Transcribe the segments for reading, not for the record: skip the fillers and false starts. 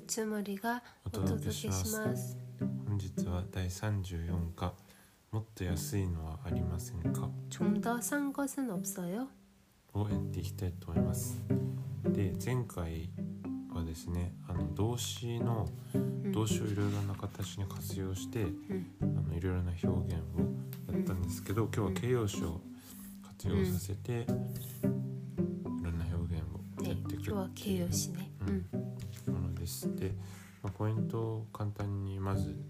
ゆつもりがお届けします。 本日は第34課もっと安いのはありませんか 좀 더 싼 것은 없어요? をやっていきたいと思います。で、前回はですね、動詞をいろいろな形に活用して、いろいろな表現をやったんですけど、今日は形容詞を活用させて、いろんな表現をやっていく、 今日は形容詞ね。 ものです。で、ポイントを簡単にまず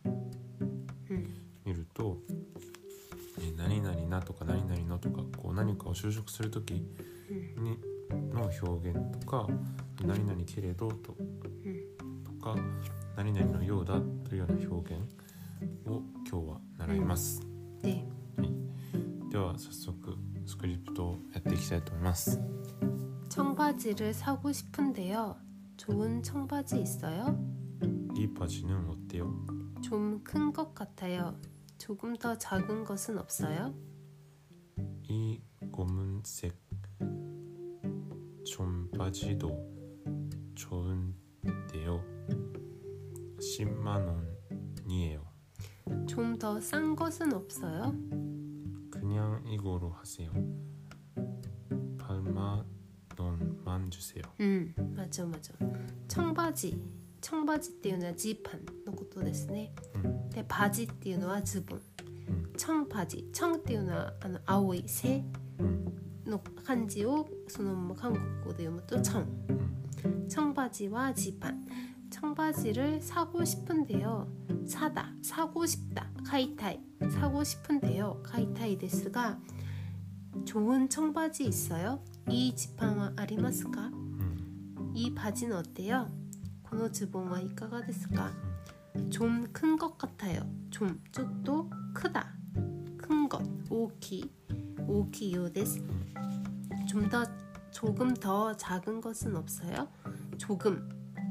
見ると、何々なとか何々のとか、こう何かを修飾するときにの表現とか、何々けれどとか、何々のようだというような表現を今日は習います。では早速スクリプトをやっていきたいと思います。 청바지를 사고 싶은데요. 좋은 청바지 있어요? 이 바지는 어때요? 좀 큰 것 같아요. 조금 더 작은 것은 없어요? 이 검은색 청바지도 좋은데요. 10만 원이에요. 좀 더 싼 것은 없어요? 그냥 이거로 하세요. 8만 원만 주세요. 맞아. 청바지っていうのはジーパンのことですね。で、バジっていうのはズボン。청바지、청っていうのは青い背の漢字をそのまま韓国語で読むと청바지와ジーパン。청바지를 사고 싶은데요. 사고 싶다, 買いたい。사고 싶은데요, 買いたいですが、좋은 청바지 있어요? 이 지팡은 ありますか? 이 바지는 어때요? このズボンはいかがですか? 좀 큰 것 같아요. 좀, ちょっと 크다. 큰 것, 大きいようです. 조금 더 작은 것은 없어요? 조금,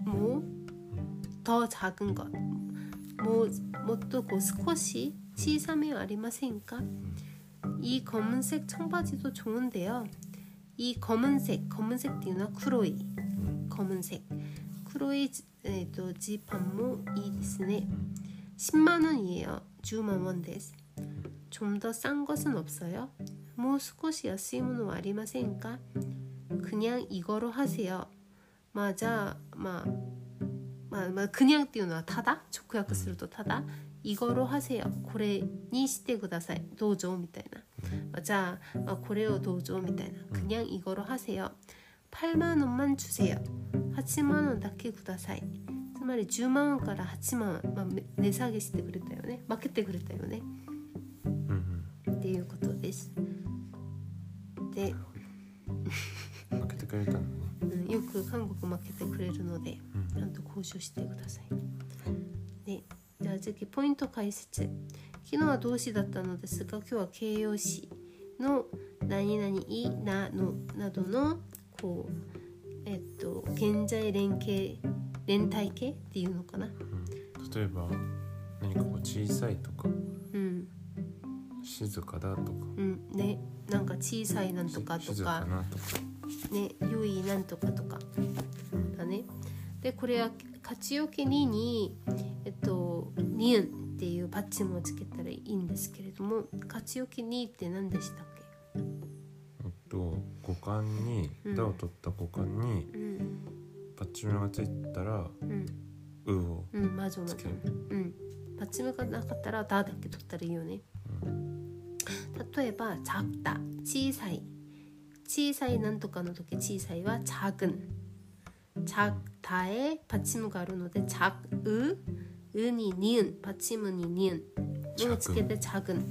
더 작은 것, もっと少し小さめはありませんか? 이 검은색 청바지도 좋은데요. 이 검은색っていうのは黒い 검은색 黒いジーパンもいいですね. 10만 원이에요. 10만 원です. 좀 더 싼 것은 없어요? もう少し安いものはありませんか? 그냥 이거로 하세요.じゃあ그냥っていうのはただ直訳するとただ이거로 하세요. これにしてください。どうぞみたいな。じゃあ、これをどうぞみたいな。그냥 이거로 하세요. 8만 원만 주세요. 8만 원だけください。つまり10万원から8万원、値下げしてくれたよね。負けてくれたよね。っていうことです。で、 負けてくれたのね。 よく韓国負けてくれるので、ちゃんと交渉してください。で、じゃあ次ポイント解説。昨日は動詞だったのですが、今日は形容詞の何々いなのなどのこう現在連帯形っていうのかな。 例えば何かこう小さいとか、静かだとか、 ね、なんか小さいなんとかとか、 静かなとか、 ね、良いなんとかとかだね。で、これは活用形にニンっていうバッチもつけたらいいんですけれども、活用形にって何でしたっけ？ 語幹に、だを取った語幹に、バッチムがついたら、うをつける。 バッチムがなかったらだだけ取ったらいいよね。例えば작다、小さいなんとかの時、小さいは작은、작다에 받침가あるので작으、に니은、받침은に니은をつけて작은。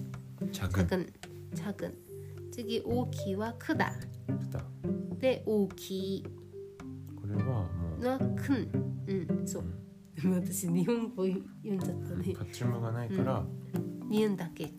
次大きいは크다で大きい。 これはもう 큰、そう。でも私日本語読んじゃったね。 パッチムがないから、 니은だけ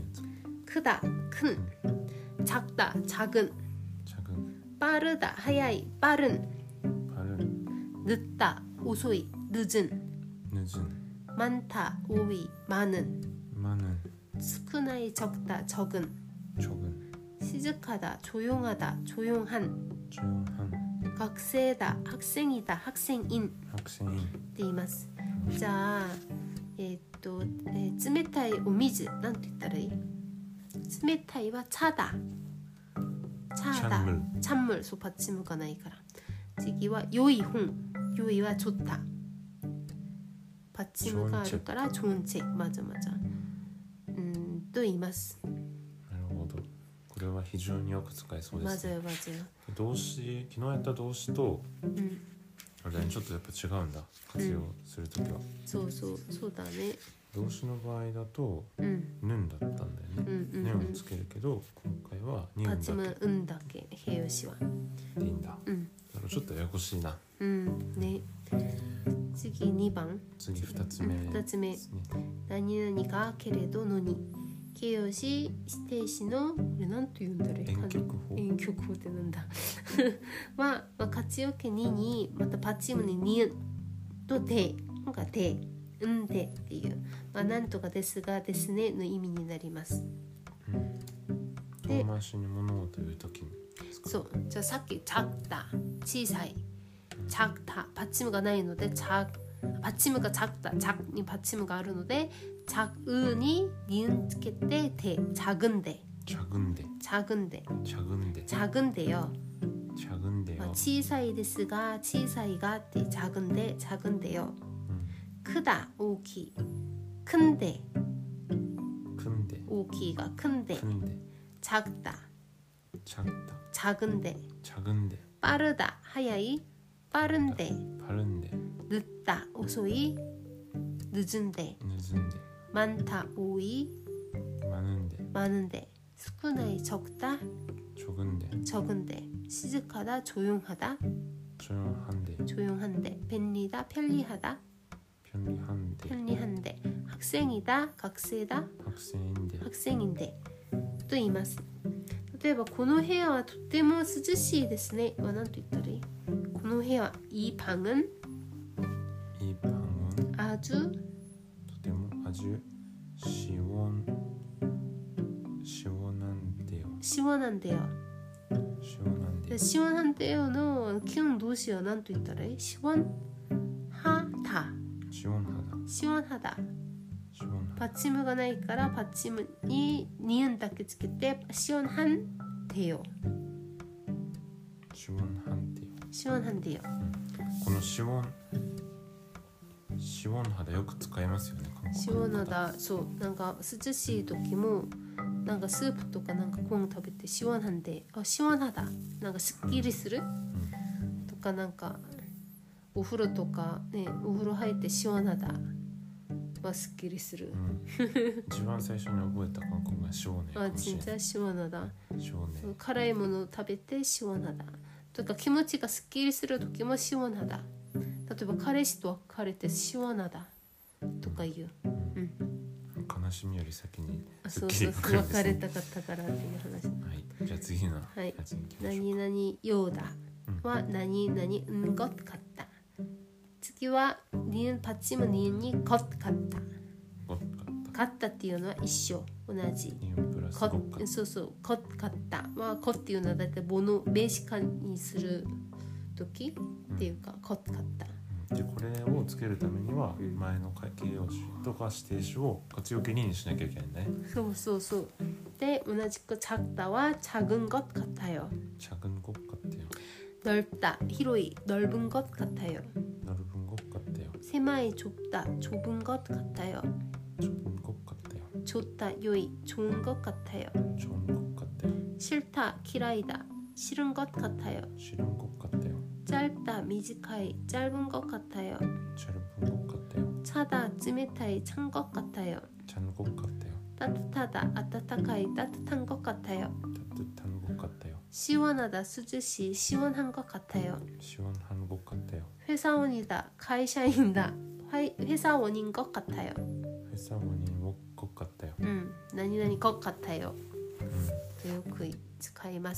큰、크다、큰、작다、작은、빠르다、速い、빠른、늦다、遅い、늦은、많다、多い、많은、少ない、적다、적은、静かだ、조용하다、조용한、 学生だ、学生だ、学生인 白線イン。 って言います。じゃあ、冷たいお水なんて言ったらいい？冷たいは차다。차다。 찬물。そう받침을がないから。次は良い本。良いは좋다。받침을があるから좋은 책。まずと言います。 なるほど。これは非常によく使えそうですね。 맞아요。 動詞、昨日やった動詞と、あれちょっとやっぱ違うんだ。活用するときは。 そうだね。 動詞の場合だと、ぬんだったんだよね。ねをつけるけど、今回はにうんだけ。 받침은だけ。形容詞は。 でいいんだ。ちょっとややこしいな。 ね。次2番。 次2つ目。 2つ目。何々がけれどのに。形容詞、指定詞のなんと言うんだろう。 遠曲法。 遠曲法ってなんだ。は、活用形にまた받침은にとでがで、でっていう、なんとかですがですねの意味になります。 遠回しに物事を言うときに。 そう。じゃあさっき작다、小さい、작다、받침がないので받침が작다、작に받침があるので。작은이 니은つけて대 작은데 작은데요. 小さいですが小さいがって작은데요. 크다 大きい큰데 大きいが큰데 작다 작은데 빠르다 速い빠른데 늦다 遅い늦은데 많다 오이 많은데 수쿠나이 적다 적은데 시즈하다 조용한데 벤리다 편리하다 학생이다 학생인데と言います。例えばこの部屋はとても涼しいですねは何と言ったらいい？この部屋이 방은 아주 시원한데요. 시원한데요の기운動詞は何と言ったらいい？시원하다 받침을がないから받침に니은だけつけて시원한데요. 시원한데요. この시원하다よく使いますよね。 시원하다。そうなんか涼しい時もなんかスープとかなんかコーン食べて시원한데 시원하다なんかすっきりする、とかなんかお風呂とかねお風呂入って시원하다はすっきりする。 一番最初に覚えた韓国語が시원해。 진짜 시원하다。辛いものを食べて시원하다。とか気持ちがすっきりする時も시원하다。例えば彼氏と別れて시원하다とか言う。 悲しみより先にすっきり来るんですね。別れたかったからっていう話。 はい。じゃあ次のやつに行きましょう。 何々ようだは何々것 같다。次は받침은 니은に것 같다。같다っていうのは一緒同じ。そう것 같다は것っていうのはだいたい物名詞化にする時っていうか것 같다。 でこれをつけるためには前の形容詞とか指定詞を活用形にしなきゃいけないんだね。 そうで同じく작다は작은 것 같아요。 작은 것 같아요。 넓다広い넓은 것 같아요。 넓은 것 같아요。 狭い좁다 좁은 것 같아요。 좁은 것 같아요。 좋다良い좋은 것 같아요。 좋은 것 같아요。 싫다 길이다 싫은 것 같아요。 싫은 것 같아요。 짧다 미지카이 짧은 것 같아요. 짧은 것 같아요. 차다 찌메타이 찬 것 같아요. 찬 것 같아요. 따뜻하다 아따타카이 따뜻한 것 같아요. 따뜻한 것 같아요. 시원하다 수주시 시원한 것 같아요. 시원한 것 같아요. 회사원이다 가이샤인다 회사원인 것 같아요. 회사원인 것 같아요. 何々것 같아요. よく使います。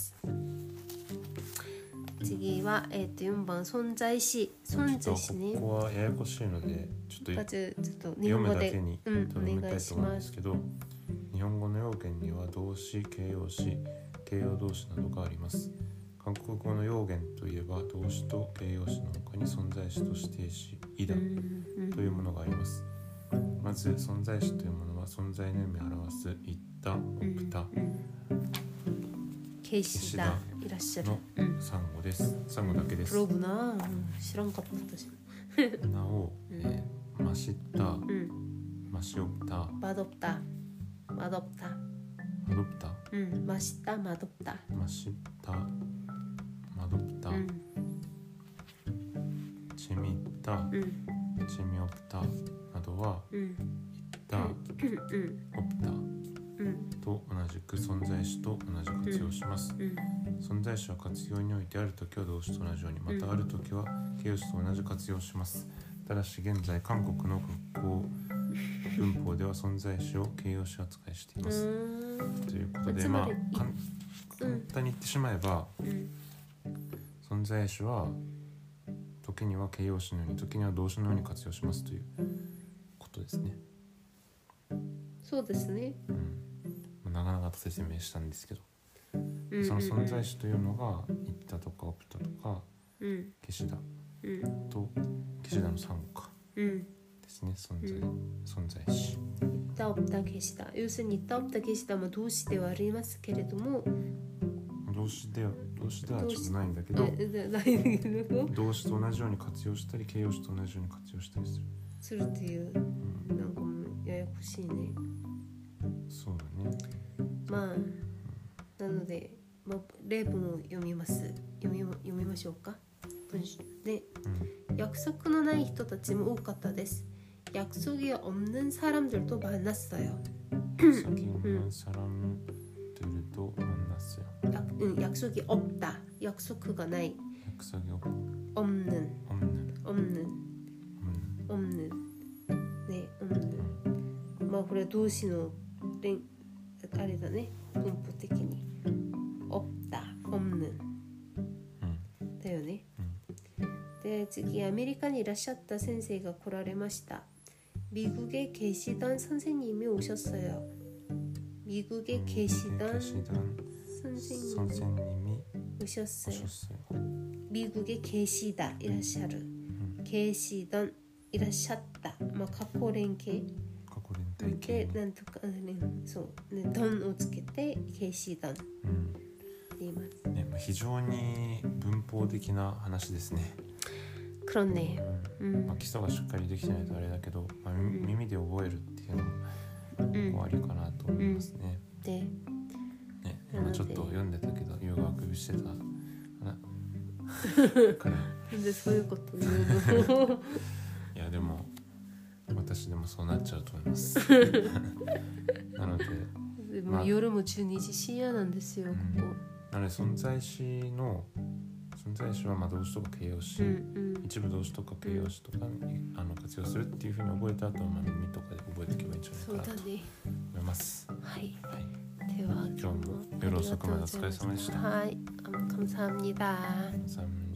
次は、4番存在詞ね。 ここはややこしいのでちょっと日読むだけにお願いします。 けど、日本語の要件には動詞、形容詞、形容動詞などがあります。 韓国語の用言といえば動詞と形容詞の他に存在詞と指定詞、意だというものがあります。まず存在詞というものは存在の意味を表すいった、없다、 계시다、いらっしゃるの3語です。3語だけです。 그러구나. 싫은가 보다. なお、맛있다、맛이없다、 맛없다, 맛없다, 맛없다、 맛있다, 맛없다, 맛있다、 맛없다、 재미있다、 재미없다などは、있다、 없다と同じく存在詞と同じ活用します。存在詞は活用においてあるときは動詞と同じように、またあるときは形容詞と同じ活用します。ただし現在韓国の学校文法では存在詞を形容詞扱いしています。ということで、簡単に言ってしまえば、存在詞は時には形容詞のように、時には動詞のように活用しますということですね。 そうですね。 長々と説明したんですけど、その存在詞というのが言ったとか없다とか계시다と계시다の3語かですね。存在詞。 있다 없다 계시다. 요새는 있다 없다 계시다も動詞ではありますけれども、 動詞ではちょっとないんだけど、動詞と同じように活用したり形容詞と同じように活用したりするっていう、なんかもうややこしいね。 そうだね。 まあ、なので、例文を読みましょうか。文章で、約束のない人たちも多かったです。약속이 없는 사람들도 만났어요. 약속이 없는 사람들도 만났어요. 약속이 없다. 약속가 나이. 약속이 없는. 네, 없는. これ動詞のあれだね。文法的に。없다, 없는. だよね。で、次アメリカにいらっしゃった先生が来られました。미국에 계시던 선생님이 오셨어요. 미국에 계시던 선생님이 오셨어요. 미국에 계시다, いらっしゃる。계시던, いらっしゃった。過去連形。で、なんとか、そうね、던をつけて계시던って言います。 ね、非常に文法的な話ですね。 그렇네. 基礎がしっかりできてないとあれだけど、耳で覚えるっていうのもありかなと思いますね。 で、 今ちょっと読んでたけど、湯があくびしてたから。 なんでそういうことね。 いやでも私でもそうなっちゃうと思います。なので、 でも夜も12時深夜なんですよ、ここ。 なので存在詞は動詞とか形容詞、一部動詞とか形容詞とか活用するっていうふうに覚えた後は耳とかで覚えておけばいいんじゃないかなと思います。 はい。では今日も夜遅くまでお疲れ様でした。 はい、감사합니다。